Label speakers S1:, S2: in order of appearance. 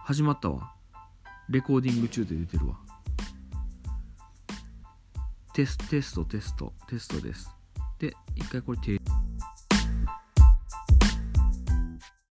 S1: 始まったわ。レコーディング中で出てるわ。テストです。で、一回これ停